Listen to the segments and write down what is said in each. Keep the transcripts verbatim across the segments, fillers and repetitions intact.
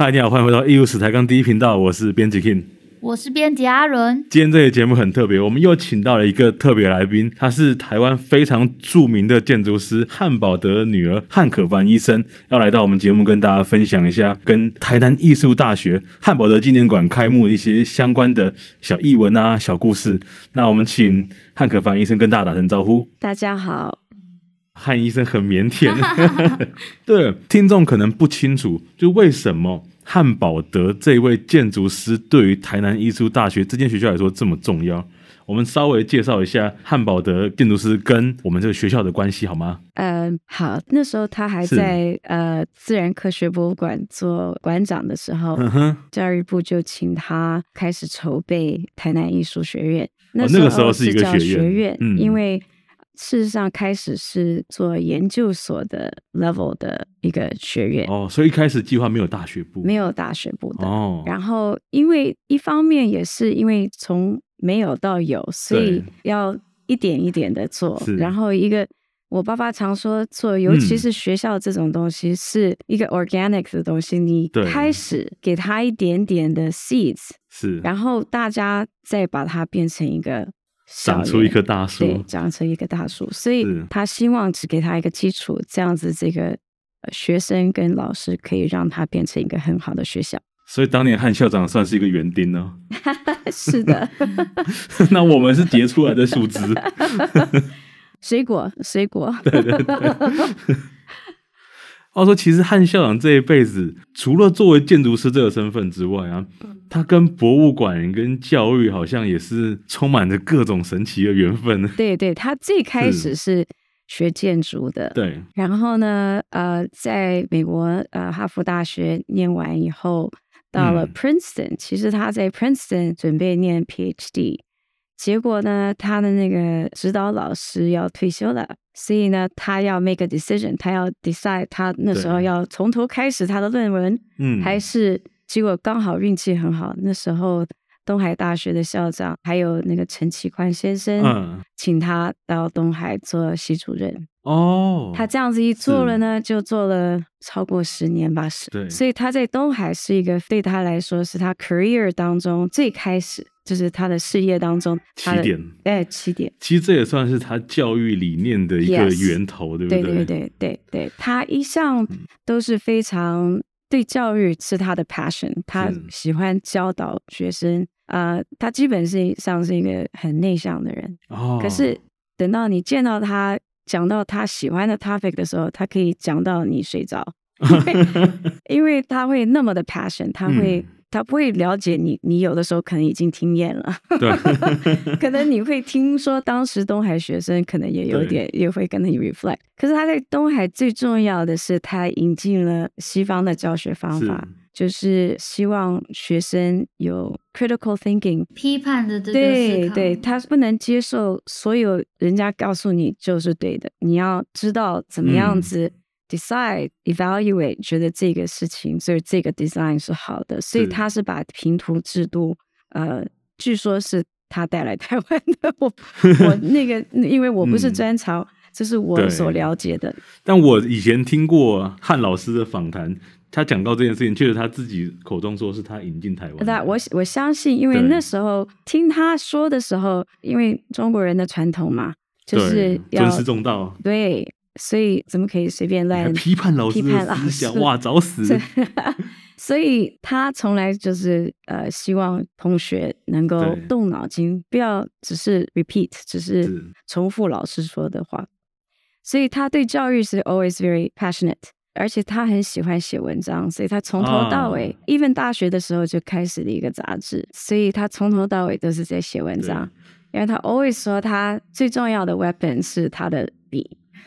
嗨，你好，歡迎回到藝術史台港第一頻道，我是編輯 King， 我是編輯阿倫。 今天這個節目很特別，我們又請到了一個特別來賓，他是台灣非常著名的建築師漢寶德的女兒漢可凡醫生，要來到我們節目跟大家分享一下跟台南藝術大學漢寶德紀念館開幕的一些相關的小藝文啊、小故事。那我們請漢可凡醫生跟大家打聲招呼。 大家好。 漢醫生很靦腆，對，聽眾可能不清楚，就為什麼漢寶德這位建築師對於台南藝術大學這間學校來說這麼重要。我們稍微介紹一下漢寶德建築師跟我們這個學校的關係好嗎？ 嗯、呃，好，那時候他還在呃自然科學博物館做館長的時候，嗯、教育部就請他開始籌備台南藝術學院。那時候、哦、那個時候是一個學院，學院嗯、因為事實上開始是做研究所的 level 的一個學院哦，所以一開始計劃沒有大學部， 沒有大學部的哦。然後因為一方面也是因為從沒有到有，所以要一點一點的做。然後一個我爸爸常說做，尤其是學校這種東西是一個 organic 的東西，嗯、你開始給他一點點的 seeds， 是，然後大家再把它變成一個。 長出一棵大樹， 對，長成一個大樹，所以他希望只給他一個基礎，這樣子這個學生跟老師可以讓他變成一個很好的學校。 所以當年漢校長算是一個園丁呢？ 是的。 那我們是結出來的樹枝。 水果，水果。 對對對。話說，其實漢校長這一輩子，除了作為建築師這個身份之外啊，他跟博物館、跟教育好像也是充滿着各種神奇的緣分。 對對，他最開始是學建築的，對。然後呢，呃，在美國呃哈佛大學念完以後，到了 Princeton，嗯，其實他在 Princeton 準備念 PhD。結果呢，他的那個指導老師要退休了，所以呢，他要 make a decision， 他要 decide， 他那時候要從頭開始他的論文，嗯，還是結果剛好運氣很好，那時候東海大學的校長還有那個陳其寬先生，嗯，請他到東海做系主任。哦，他這樣子一做了呢，就做了超過十年吧，對，所以他在東海是一個對他來說是他 career 當中最開始。就是他的事業當中起點，哎，起點。 其實這也算是他教育理念的一個源頭， yes, 對不對？ 對對對對對，他一向都是非常對教育是他的 passion， 他喜歡教導學生。呃，他基本上是一個很內向的人，哦，可是等到你見到他講到他喜歡的 topic 的時候，他可以講到你睡着，因為因為他會那麼的 passion， 他會。嗯，他不會了解你，你有的時候可能已經聽厭了，對，可能你會聽說當時東海學生可能也有點，也會跟你 reflect。可是他在東海最重要的是，他引進了西方的教學方法，是就是希望學生有 critical thinking， 批判的這個思考。 對對，他不能接受所有人家告訴你就是對的，你要知道怎麼樣子。嗯Decide, evaluate， 覺得這個事情，所以這個 design 是好的，所以他是把評圖制度，呃，據說是他帶來台灣的。我我那個，因為我不是專長，這、嗯、是我所了解的。 但我以前聽過漢老師的訪談，他講到這件事情，確實他自己口中說是他引進台灣。 那我我相信，因為那時候聽他說的時候，因為中國人的傳統嘛，就是要尊師重道。 對。所以怎麼可以隨便亂批判老師的思想？哇，找死！ 所以他從來就是呃，希望同學能夠動腦筋，不要只是 repeat， 只是重複老師說的話。所以他對教育是 always very passionate， 而且他很喜歡寫文章，所以他從頭到尾、啊、，even 大學的時候就開始了一個雜誌，所以他從頭到尾都是在寫文章。因為他 always 說他最重要的 weapon 是他的筆。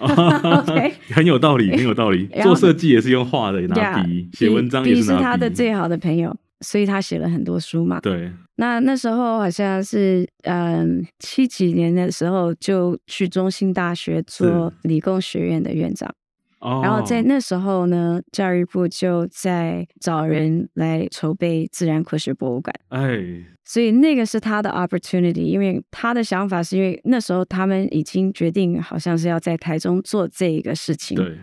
Okay. 很有道理，很有道理。做設計也是用畫的，拿筆；寫文章也是拿筆。筆是他的最好的朋友，所以他寫了很多書嘛。對。那那時候好像是嗯七幾年的時候，就去中興大學做理工學院的院長。然後在那時候呢，教育部就在找人來籌備自然科學博物館。哎。所以那個是他的 opportunity， 因為他的想法是因為那時候他們已經決定好像是要在台中做這個事情。對。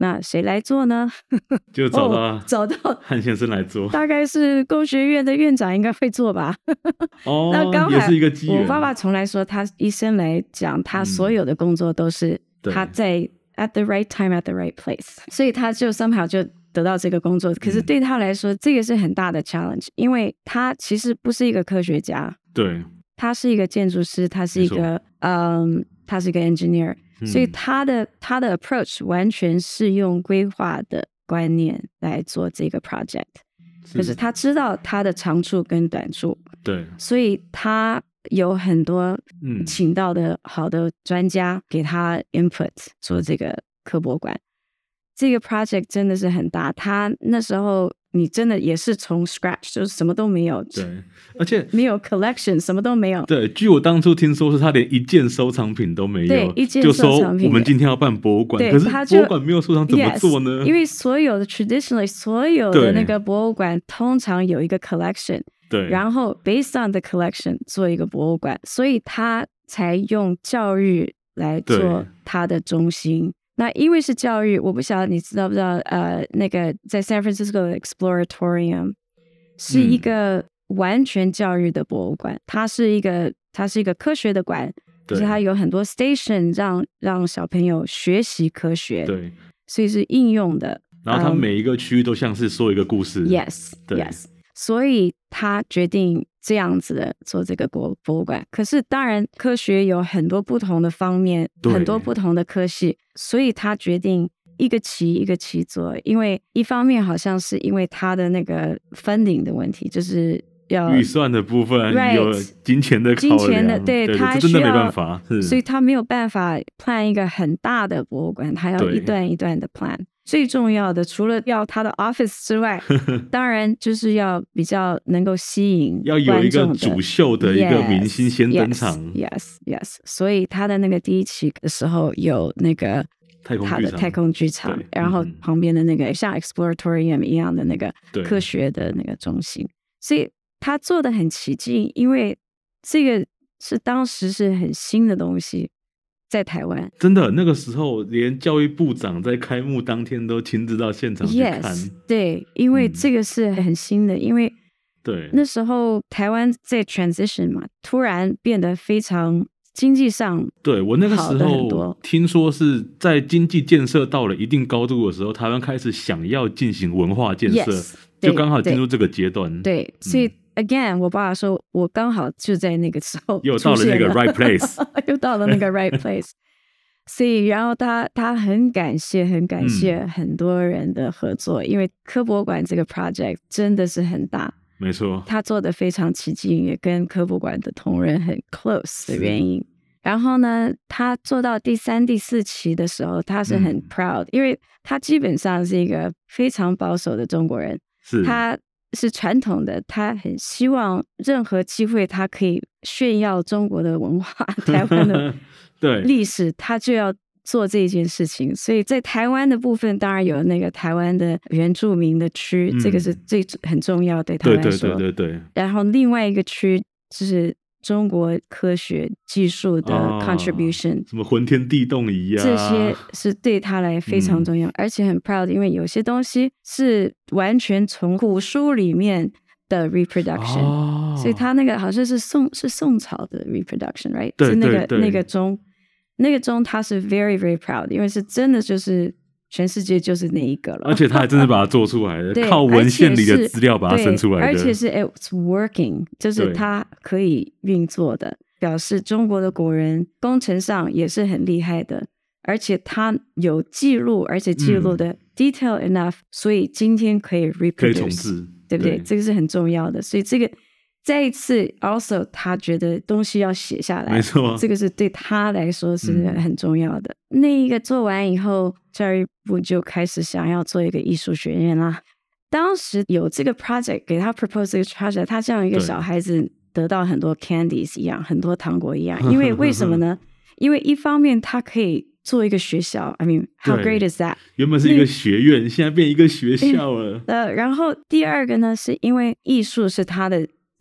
那誰來做呢？ 就找到、 哦、找到漢先生來做， 大概是工學院的院長應該會做吧。 哦， 那剛好也是一個機緣。 我爸爸從來說，他一生來講，他所有的工作都是他在 at the right time at the right place，所以他就 somehow 就得到這個工作。可是對他來說，嗯、這個是很大的 challenge， 因為他其實不是一個科學家， 對， 他是一個建築師，他是一個嗯，他是一個 engineer。所以他的他的 approach 完全是用規劃的觀念來做這個 project， 是，可是他知道他的長處跟短處，對，所以他有很多請到的好的專家給他 input 做這個科博館。這個 project 真的是很大，他那時候你真的也是從 scratch， 就是什麼都沒有， 對，而且沒有 collection， 什麼都沒有。對， 據我當初聽說是他連一件收藏品都沒有， 對，一件收藏品。 就說我們今天要辦博物館，可是博物館沒有收藏怎麼做呢？ Yes, 因為所有的 traditionally 所有的那個博物館通常有一個 collection， 對，然後 based on the collection 做一個博物館，所以他才用教育來做他的中心。那因為是教育，我不曉得你知道不知道，呃，那個在 San Francisco 的 Exploratorium 是一個完全教育的博物館，嗯、它是一個它是一個科學的館，就是它有很多 station 讓讓小朋友學習科學，對，所以是應用的。 然後它每一個區域都像是說一個故事、um, ，yes， 對 yes，所以他決定這樣子的做這個博博物館。可是當然科學有很多不同的方面，很多不同的科系，所以他決定一個期一個期做。因為一方面好像是因為他的那個 funding 的問題，就是要預算的部分、right, 有金錢的考量，金錢的， 對， 對， 他真的沒辦法， 所以他沒有辦法 plan 一個很大的博物館，他要一段一段的 plan。最重要的，除了要他的 office 之外，當然就是要比較能夠吸引觀眾的，要有一個主秀的一個明星先登場。 Yes, yes, yes。所以他的那個第一期的時候有那個他的太空劇場，然後旁邊的那個像 Exploratorium 一樣的那個科學的那個中心，所以他做得很起勁，因為這個是當時是很新的東西。在台灣， 真的那個時候，連教育部長在開幕當天都親自到現場去看。 Yes, 對，因為這個是很新的，嗯、因為對那時候台灣在 transition 嘛，突然變得非常經濟上。對，我那個時候聽說是在經濟建設到了一定高度的時候，台灣開始想要進行文化建設，yes, 就剛好進入這個階段。 對，對所以。嗯Again，我爸爸說，我剛好就在那個時候又到了那個 right place， 又到了那個 right place。所以，然後他他很感謝，很感謝很多人的合作，嗯、因為科博館這個 project 真的是很大， 沒錯， 他做的非常起勁，也跟科博館的同仁很 close 的原因。然後呢，他做到第三、第四期的時候，他是很 proud，、嗯、因為他基本上是一個非常保守的中國人，是他。是傳統的，他很希望任何機會他可以炫耀中國的文化、台灣的歷史，他就要做這件事情。所以在台灣的部分，當然有那個台灣的原住民的區，嗯、這個是最很重要對他來說。對對對對對。然後另外一個區就是中國科學技術的 contribution，、哦、 什麼渾天地動儀啊， 這些是對他來非常重要，嗯、而且很 proud，因為有些東西是完全從古書裡面的 reproduction，、哦、所以他那個好像是宋是宋朝的 reproduction，right？ 對是那個對對那個鐘，那個鐘他是 very very proud， 因為是真的就是全世界就是那一個了， 而且他還真的把它做出來的，靠文獻裡的資料把它生出來的， 而且是 it's working， 就是它可以運作的，表示中國的古人工程上也是很厲害的，而且他有記錄，而且記錄的 detail enough，、嗯、所以今天可以 reproduce， 可以重製，對不對？對，這個是很重要的，所以這個再一次 also 他覺得東西要寫下來，沒錯，這個是對他來說是很重要的。嗯、那一個做完以後，教育部就開始想要做一個藝術學院啦。當時有這個 project 給他 propose 這個 project， 他像一個小孩子得到很多 candies 一樣，很多糖果一樣。因為為什麼呢？因為一方面他可以做一個學校 ，I mean how great is that？ 原本是一個學院，現在變一個學校了。 呃，然後第二個呢，是因為藝術是他的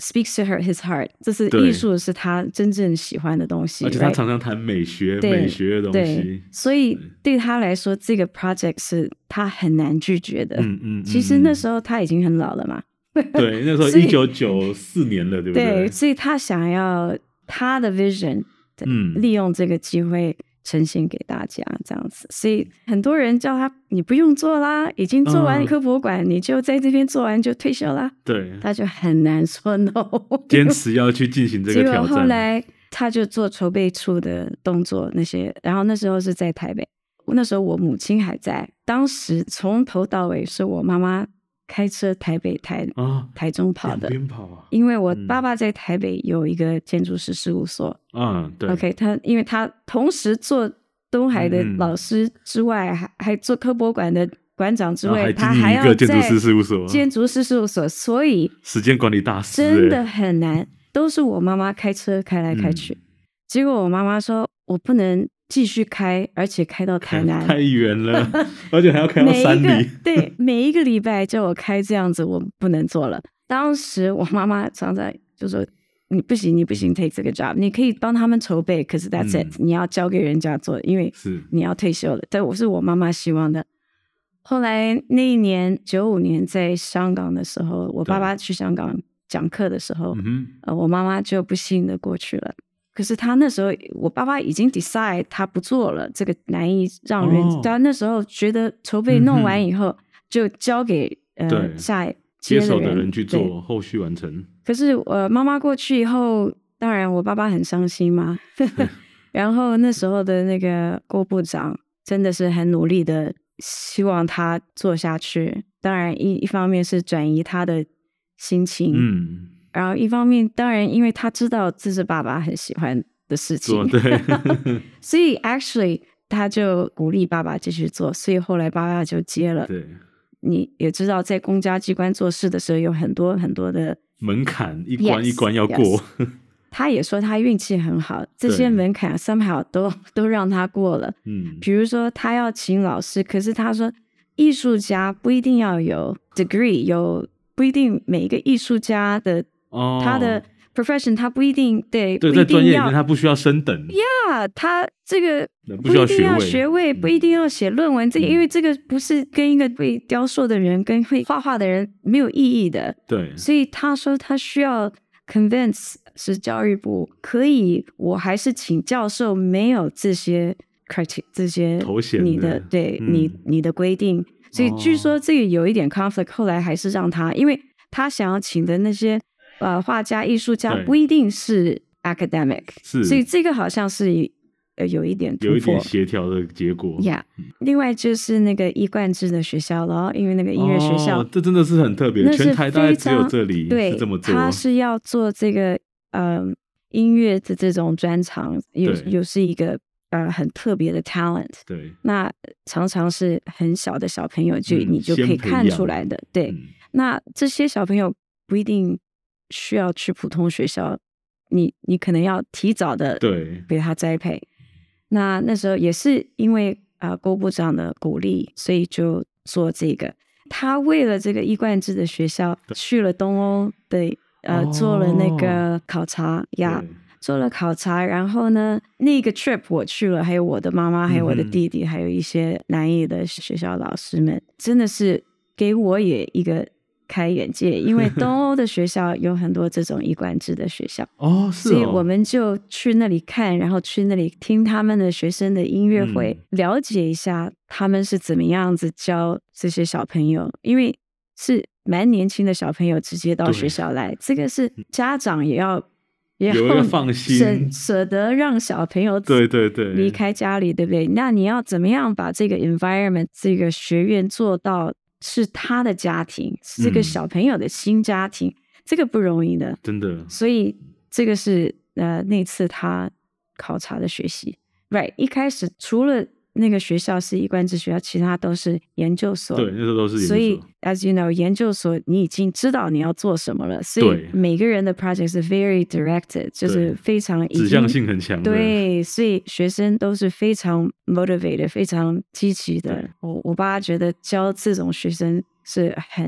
speaks to her his heart， 這是藝術是他真正喜歡的東西， 而且他常常談美學美學的東西， 所以對他來說這個 project 是他很難拒絕的。嗯嗯，其實那時候他已經很老了嘛， 對，那時候一九九四年了，對不對？對， 所以他想要他的 vision， 嗯，利用這個機會呈現給大家這樣子，所以很多人叫他你不用做啦，已經做完科博館，嗯、你就在這邊做完就退休啦。對，他就很難說 no， 堅持要去進行這個挑戰。結果後來他就做籌備處的動作那些，然後那時候是在台北，那時候我母親還在，當時從頭到尾是我媽媽開車台北台、哦、台中跑的， 跑啊、 因為我爸爸在台北有一個建築師事務所。 嗯，對。 OK， 他因為他同時做東海的老師之外，嗯、還還做科博館的館長之外，他還要在建築師事務所，建築師事務所，所以時間管理大師真的很難，都是我媽媽開車開來開去。嗯、結果我媽媽說，我不能繼續開，而且開到台南太遠了，而且還要開到山裡。 對，每一個禮拜叫我開這樣子，我不能做了。當時我媽媽常常就說：“你不行，你不行 ，take 這個 job， 你可以幫他們籌備，可是 that's it，、嗯、你要交給人家做，因為你要退休了。”但我是我媽媽希望的。後來那一年九五年在香港的時候，我爸爸去香港講課的時候，呃，我媽媽就不幸的過去了。可是他那時候，我爸爸已經 decide 他不做了，這個難以讓人。哦、他那時候覺得籌備弄完以後，嗯、就交給呃下接手的人去做後續完成。 可是呃，媽媽過去以後，當然我爸爸很傷心嘛。然後那時候的那個郭部長真的是很努力的，希望他做下去。當然一一方面是轉移他的心情。嗯。然後一方面，當然，因為他知道這是爸爸很喜歡的事情， 對， 所以 actually 他就鼓勵爸爸繼續做，所以後來爸爸就接了。 對， 你也知道，在公家機關做事的時候，有很多很多的門檻，一關一關要過。 Yes, yes. 他也說他運氣很好，這些門檻 somehow 都都讓他過了。嗯，比如說他要請老師，可是他說藝術家不一定要有 degree， 有不一定每一個藝術家的。Oh, 他的 profession 他不一定對， 對，在專業裡面他不需要升等呀， yeah, 他這個不一定要學位，不一定要寫論文，這、嗯、因為這個不是跟一個會雕塑的人跟會畫畫的人沒有意義的。對，所以他說他需要 convince 是教育部可以，我還是請教授沒有這些 criteria 這些頭銜你的對、嗯、你你的規定，所以據說這個有一點 conflict，、哦、後來還是讓他，因為他想要請的那些。呃，畫家、藝術家不一定是 academic， 是，所以這個好像是呃有一點突破， 有一點協調的結果。 Yeah，、嗯、另外就是那個一貫制的學校了，因為那個音樂學校， 哦、這真的是很特別，全台大概只有這裡是這麼做。 對，他是要做這個呃音樂的這種專長，又又是一個呃很特別的 talent。對，那常常是很小的小朋友就、嗯、你就可以看出來的。對、嗯，那這些小朋友不一定需要去普通學校，你你可能要提早的對給他栽培。那那時候也是因為啊、呃、郭部長的鼓勵，所以就做這個。他為了這個一貫制的學校，去了東歐的呃、哦、做了那個考察呀，做了考察。然後呢，那個 trip 我去了，還有我的媽媽，還有我的弟弟，嗯、還有一些南藝的學校老師們，真的是給我也一個開眼界，因為東歐的學校有很多這種一貫制的學校哦，是哦， 所以我們就去那裡看，然後去那裡聽他們的學生的音樂會，嗯、了解一下他們是怎麼樣子教這些小朋友，因為是蠻年輕的小朋友直接到學校來，這個是家長也要也要放心捨得讓小朋友對對對離開家裡，對不對？那你要怎麼樣把這個 environment 這個學院做到是他的家庭，是這個小朋友的新家庭，嗯、這個不容易的， 真的。 所以這個是呃那次他考察的學習 ，right？ 一開始除了那個學校是一貫制學校，其他都是研究所。 對，那時候都是研究所。 所以 as you know， 研究所你已經知道你要做什麼了，所以每個人的 project 是 very directed，就是非常指向性很強的。 對，所以學生都是非常 motivated， 非常積極的。我我爸覺得教這種學生是很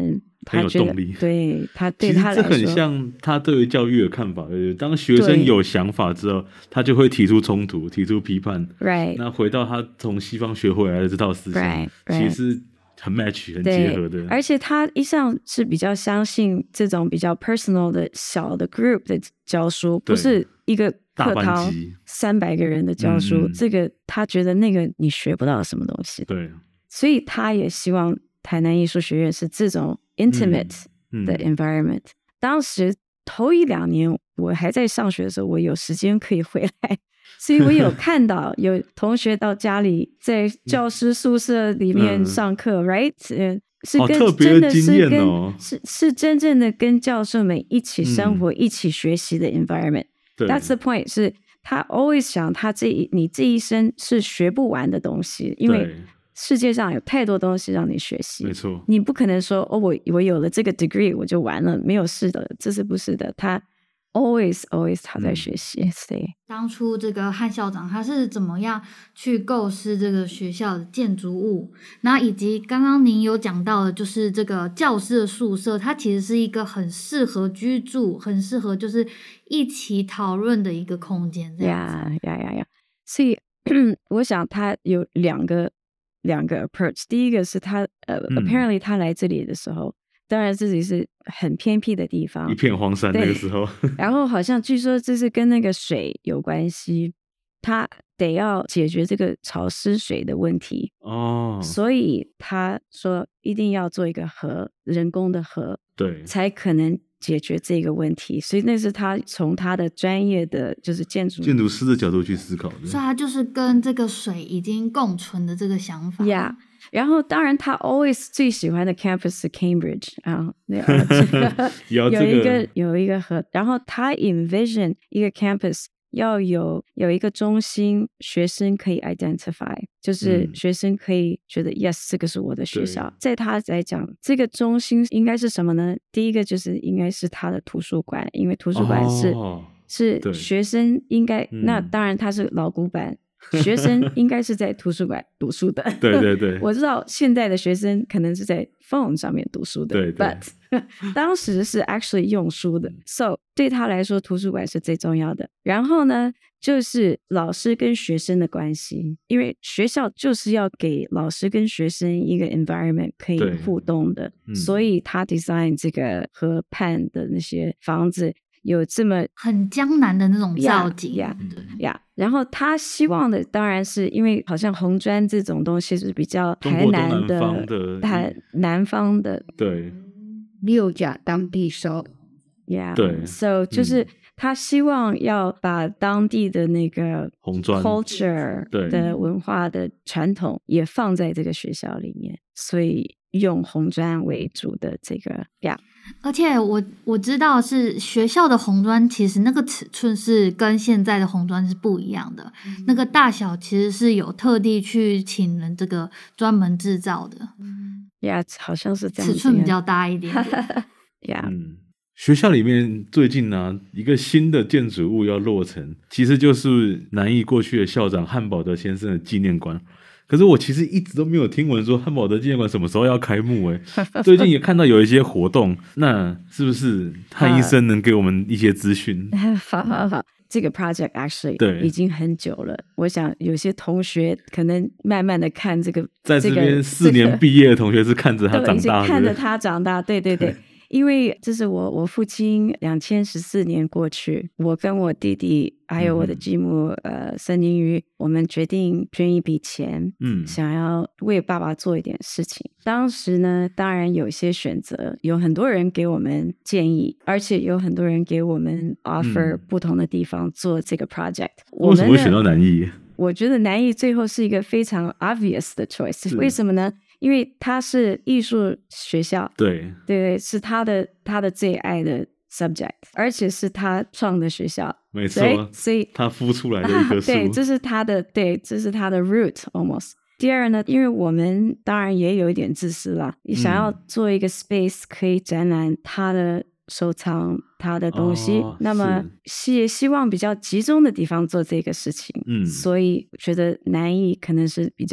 很有動力。 對他對他來說， 其實這很像他對於教育的看法。當學生有想法之後，他就會提出衝突，提出批判。 Right. 那回到他從西方學回來的這套思想， right, right. 其實是很 match 很結合的。 而且他一向是比較相信這種比較 personal 的小的 group 的教書，不是一個課堂三百個人的教書。這個他覺得那個你學不到什麼東西。 對， 所以他也希望台南藝術學院是這種 intimate 的 environment。嗯嗯、當時頭一兩年我還在上學的時候，我有時間可以回來。所以我有看到有同學到家裡，在教師宿舍裡面上課、嗯、，right？ 是跟、哦、真的是跟、哦、是是真正的跟教授們一起生活、嗯、一起學習的 environment。That's the point。是他 always 想，他這一你這一生是學不完的東西，因為世界上有太多東西讓你學習。 沒錯， 你不可能說哦，我我有了這個 degree 我就完了，沒有事的，這是不是的？他。Always, always， 他在學習。對、嗯， 當初這個漢校長他是怎麼樣去構思這個學校的建築物，然後以及剛剛您有講到的，就是這個教師的宿舍，它其實是一個很適合居住、很適合就是一起討論的一個空間。這樣呀呀呀呀！所以我想他有兩個兩個 approach。第一個是他呃、嗯、，apparently 他來這裡的時候。當然自己是很偏僻的地方， 一片荒山那個時候。 然後好像據說這是跟那個水有關係，他得要解決這個潮濕水的問題哦，所以他說一定要做一個河，人工的河， 對， 才可能解決這個問題。所以那是他從他的專業的就是建築建築師的角度去思考的， 所以他就是跟這個水已經共存的這個想法。 Yeah。然後，當然，他 always 最喜歡的 campus 是 Cambridge 啊，那個有一個有一個和，然後他 envision 一個 campus 要有有一個中心，學生可以 identify， 就是學生可以覺得、嗯、yes， 這個是我的學校。在他來講，這個中心應該是什麼呢？第一個就是應該是他的圖書館，因為圖書館是、哦、是學生應該，那當然他是老古板。學生應該是在圖書館讀書的。 對對對， 我知道現在的學生可能是在 phone 上面讀書的。 對對。 But 當時是 actually 用書的。So 對他來說，圖書館是最重要的。然後呢，就是老師跟學生的關係，因為學校就是要給老師跟學生一個 environment 可以互動的，嗯、所以他 design 這個河畔的那些房子。有這麼很江南的那種造景呀呀，然後他希望的當然是因為好像紅磚這種東西是比較台南的台南方的對六甲當地收呀對 ，so 就是他希望要把當地的那個紅磚 culture 的文化的傳統也放在這個學校裡面，所以用紅磚為主的這個呀。 而且我我知道是學校的紅磚，其實那個尺寸是跟現在的紅磚是不一樣的，嗯、那個大小其實是有特地去請人這個專門製造的。 呀、yeah, 好像是這樣子， 尺寸比較大一點點。 呀、yeah. 嗯，學校裡面最近呢、啊，一個新的建築物要落成，其實就是南藝過去的校長漢寶德先生的紀念館。可是我其實一直都沒有聽聞說漢寶德紀念館什麼時候要開幕誒，最近也看到有一些活動，那是不是漢醫生能給我們一些資訊？ 好好好，這個 project actually 對已經很久了。我想有些同學可能慢慢的看這個， 在這邊四年畢業的同學是看着他長大的，已經看着他長大，對對對。對因為這是我我父親兩千十四年過去，我跟我弟弟還有我的繼母、嗯、呃孫寧瑜，我們決定捐一筆錢，嗯，想要為爸爸做一點事情。當時呢，當然有些選擇，有很多人給我們建議，而且有很多人給我們 offer 不同的地方做這個 project。 嗯、為什麼會選到南藝？ 我覺得南藝最後是一個非常 obvious 的 choice， 為什麼呢？因為他是藝術學校， 對對，是他的他的最愛的 subject， 而且是他創的學校， 沒錯，所以他孵出來的一棵樹， 對，這是他的，對，這是他的 root almost。第二呢，因為我們當然也有一點自私啦，你想要做一個 space 可以展覽他的收藏他的東西，哦、那麼是希望比較集中的地方做這個事情，嗯，所以覺得南藝可能是比較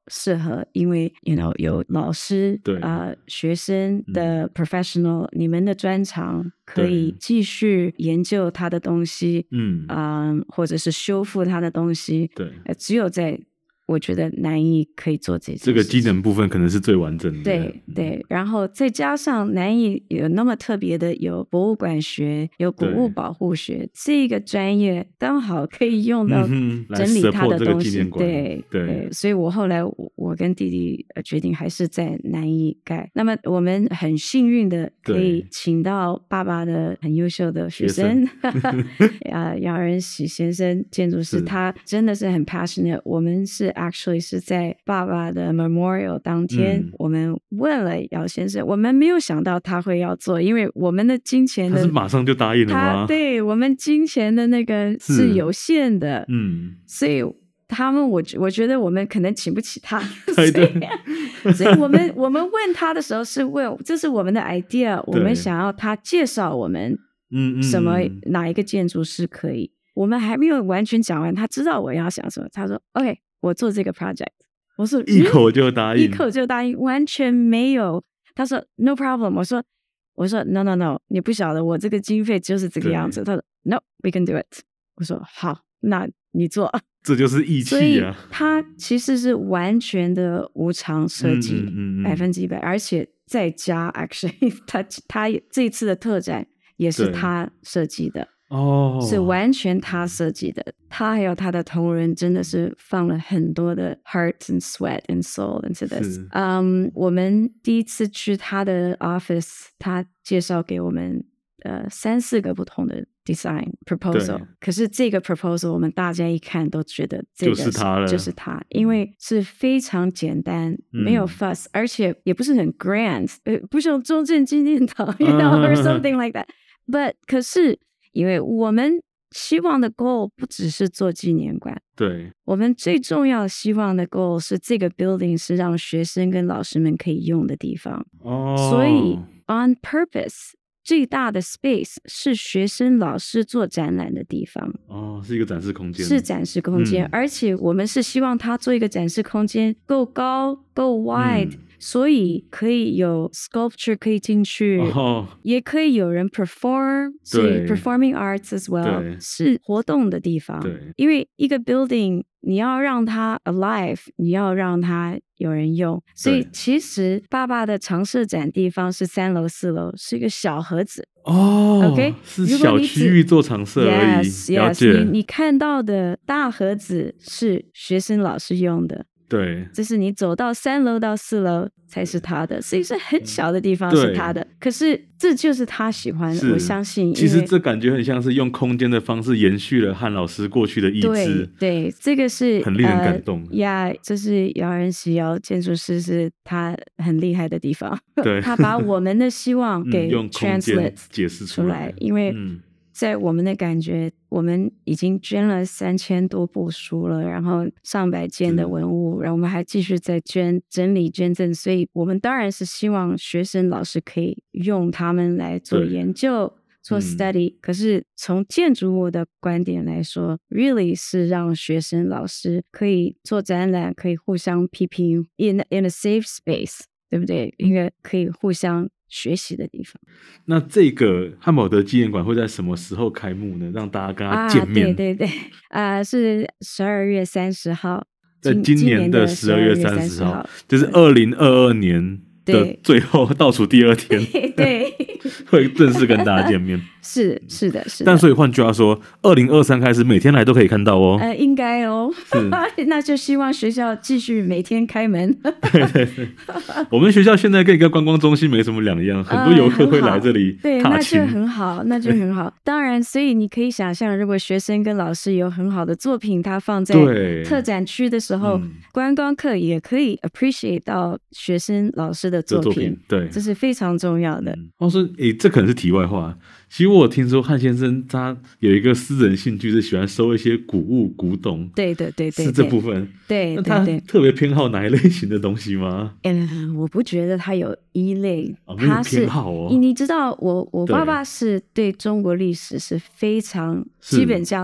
適合，因為 you know 有老師對啊、呃、學生的 professional，、嗯、你們的專長可以繼續研究他的東西，嗯啊、呃，或者是修復他的東西， 對， 呃，只有在。我覺得南藝可以做這些， 這個機能部分可能是最完整的。 對對，然後再加上南藝有那麼特別的，有博物館學，有古物保護學，這個專業剛好可以用到整理它的東西。嗯、對 對, 對，所以我後來我我跟弟弟決定還是在南藝蓋。那麼我們很幸運的可以請到爸爸的很優秀的學生，啊，姚仁喜先生，建築師，他真的是很 passionate。我們是。Actually 是在爸爸的 memorial 當天、嗯，我們問了姚先生，我們沒有想到他會要做，因為我們的金錢的， 他是馬上就答應了嗎？ 對，我們金錢的那個是有限的，嗯，所以他們我我覺得我們可能請不起他，所以，所以我們我們問他的時候是問，這是我們的 idea， 我們想要他介紹我們，嗯，什麼哪一個建築師可以，我們還沒有完全講完，他知道我要想什麼，他說 OK。我做這個 project， 我說一口就答應， 一口就答應，完全沒有。他說 no problem， 我說我說 no no no， 你不曉得我這個經費就是這個樣子。他說 no we can do it， 我說好，那你做。 這就是義氣啊！所以他其實是完全的無償設計，百分之一百，而且再加 actually， 他他這一次的特展也是他設計的。哦、oh. ，是完全他設計的，他還有他的同仁真的是放了很多的 heart and sweat and soul into this。嗯、um, 我們第一次去他的 office， 他介紹給我們呃三四個不同的 design proposal， 可是這個 proposal 我們大家一看都覺得這個是就是他了， 就是他，因為是非常簡單，嗯、沒有 fuss， 而且也不是很 grand， 呃，不像中正紀念堂、uh, ，you know or something like that，but 可是。因為我們希望的 goal 不只是做紀念館， 對， 我們最重要希望的 goal 是這個 building 是讓學生跟老師們可以用的地方。哦，所以 on purpose 最大的 space 是學生老師做展覽的地方。 哦，是一個展示空間， 是展示空間，嗯、而且我們是希望它做一個展示空間夠高夠 wide。嗯，所以可以有 sculpture 可以進去，哦，也可以有人 perform， 所以 performing arts as well 是活動的地方。對，因為一個 building 你要讓它 alive， 你要讓它有人用，所以其實爸爸的常設展地方是三樓四樓，是一個小盒子。哦 ，OK， 是小區域做常設而已。 Yes, yes， 你你看到的大盒子是學生老師用的。 對， 這是你走到三樓到四樓才是他的，所以是很小的地方是他的。可是這就是他喜歡的，我相信。 其實這感覺很像是用空間的方式延續了漢老師過去的意志。 對，對，這個是很令人感動。 呀、呃 yeah, 這是姚仁喜姚建築師是他很厲害的地方。 對， 他把我們的希望給 translate、嗯、 解釋出來， 因為。嗯在我們的感覺，我們已經捐了三千多部書了，然後上百件的文物，然後我們還繼續在捐整理捐贈，所以我們當然是希望學生老師可以用他們來做研究、做 study、嗯。可是從建築物的觀點來說 ，really 是讓學生老師可以做展覽，可以互相批評 ，in in a safe space， 對不對？應該可以互相。學習的地方。 那這個漢寶德紀念館會在什麼時候開幕呢？讓大家跟他見面。 啊、對對對，啊、呃，是十二月三十號， 在今年的十二月三十號，就是二零二二年的最後倒數第二天， 對，對會正式跟大家見面。 是是的，是的。 但所以換句話說，二零二三開始每天來都可以看到哦。 呃，應該哦。那就希望學校繼續每天開門。 對對對，我們學校現在跟一個觀光中心沒什麼兩樣，很多遊客會來這裡、呃、 對，那就很好，那就很好。當然，所以你可以想象，如果學生跟老師有很好的作品，他放在特展區的時候，觀光客也可以 appreciate 到學生老師的作品。作品對，這是非常重要的。 我、嗯、說，誒，這可能是題外話。其實我聽說漢先生他有一個私人興趣，是喜歡收一些古物古董。 對對對對， 是這部分。 對， 那他特別偏好哪一類型的東西嗎？ 嗯，我不覺得他有一類， 哦、沒有偏好哦。 你你知道我，我我爸爸是對中國歷史是非常基本上是。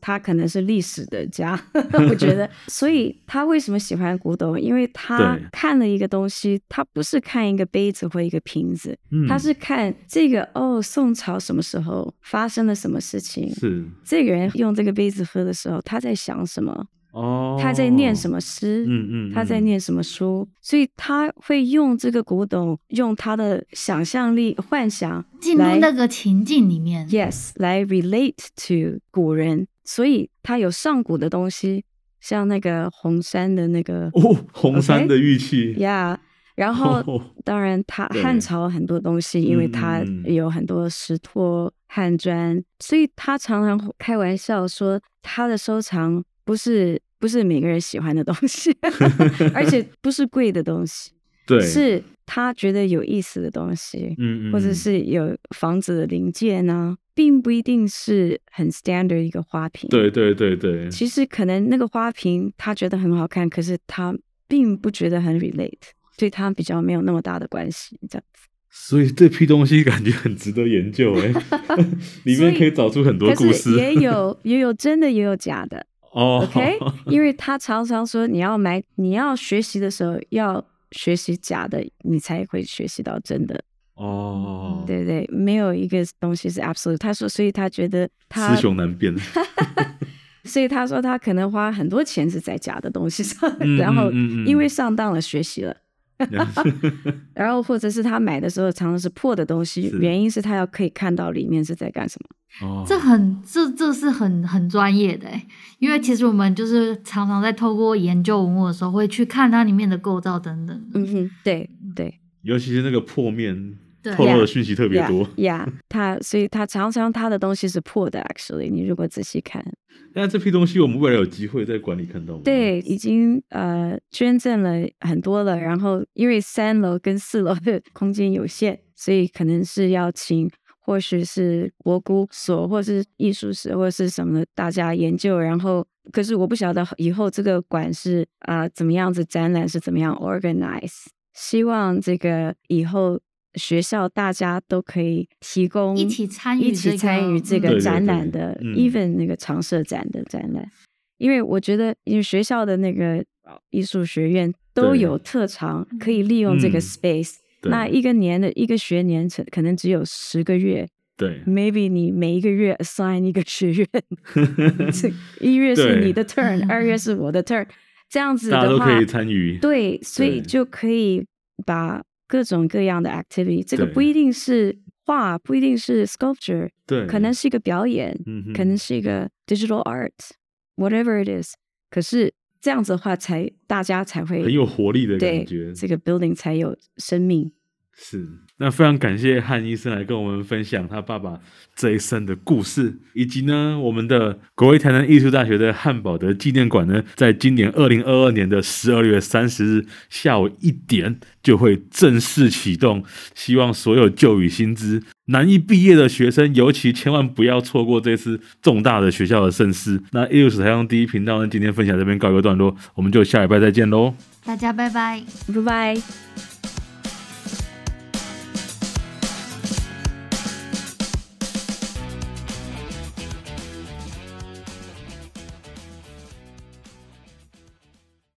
他可能是歷史的家，我覺得。所以他為什麼喜歡古董？因為他看了一個東西，他不是看一個杯子或一個瓶子，嗯、他是看這個哦，宋朝什麼時候發生了什麼事情？是這個人用這個杯子喝的時候，他在想什麼？哦，他在念什麼詩？嗯嗯，嗯，他在念什麼書？所以他會用這個古董，用他的想象力、幻想進入那個情境裡面。 Yes， 來 relate to 古人，所以他有上古的東西，像那個紅山的那個哦，紅山的玉器呀。Okay? Yeah, 然後、oh, 當然他漢朝很多東西，因為他有很多石拓、漢磚，所以他常常開玩笑說，他的收藏不是。不是每個人喜歡的東西，而且不是貴的東西，對，是他覺得有意思的東西，嗯嗯，或者是有房子的零件啊，並不一定是很 standard 一個花瓶， 對對對對。 其實可能那個花瓶他覺得很好看，可是他並不覺得很 relate， 對他比較沒有那麼大的關係，這樣子。 所以這批東西感覺很值得研究哎，裡面可以找出很多故事， 也有也有真的，也有假的。 哦、 oh. ，OK， 因為他常常說，你要買，你要學習的時候要學習假的，你才會學習到真的。哦、oh. ，對對，沒有一個東西是 absolute。他說，所以他覺得他雌雄難辨。 所以他說他可能花很多錢是在假的東西上，嗯、然後因為上當了學習了。然後或者是他買的時候常常是破的東西，原因是他要可以看到裡面是在幹什麼。 哦，這很這這是很很專業的，因為其實我們就是常常在透過研究文物的時候會去看它裡面的構造等等。 嗯哼，對對， 尤其是那個破面透露的訊息特別多。 呀、yeah, yeah, yeah, 他所以他常常他的東西是破的 ，actually， 你如果仔細看。 那這批東西我們未來有機會在館裡看到嗎？ 對，已經呃捐贈了很多了，然後因為三樓跟四樓的空間有限，所以可能是要請或許是國古所或是藝術史或是什麼的大家研究，然後可是我不曉得以後這個館是啊、呃、怎麼樣子展覽是怎麼樣 organize， 希望這個以後學校大家都可以提供一起參與、這個、 一起參與這個展覽的、 嗯、 even 那個常設展的展覽、嗯，因為我覺得因為學校的那個藝術學院都有特長可以利用這個 space，、嗯、那一個年的一個學年可能只有十個月，對 ，maybe 你每一個月 assign 一個學院，一月是你的 turn， 二月是我的 turn， 這樣子的話大家都可以參與， 對，所以就可以把各種各樣的 activity， 這個不一定是畫，不一定是 sculpture， 對，可能是一個表演，嗯、可能是一個 digital art，whatever it is。可是這樣子的話才，才大家才會很有活力的感覺， 這個 building 才有生命。 是，那非常感謝漢醫生來跟我們分享他爸爸這一生的故事，以及呢，我們的國立台南藝術大學的漢寶德紀念館呢，在今年二零二二年的十二月三十日下午一點就會正式啟動，希望所有舊與新知南藝畢業的學生，尤其千萬不要錯過這次重大的學校的盛事。那藝術史台上第一頻道呢，今天分享這邊告一個段落，我們就下禮拜再見嘍， 大家拜拜， 拜拜。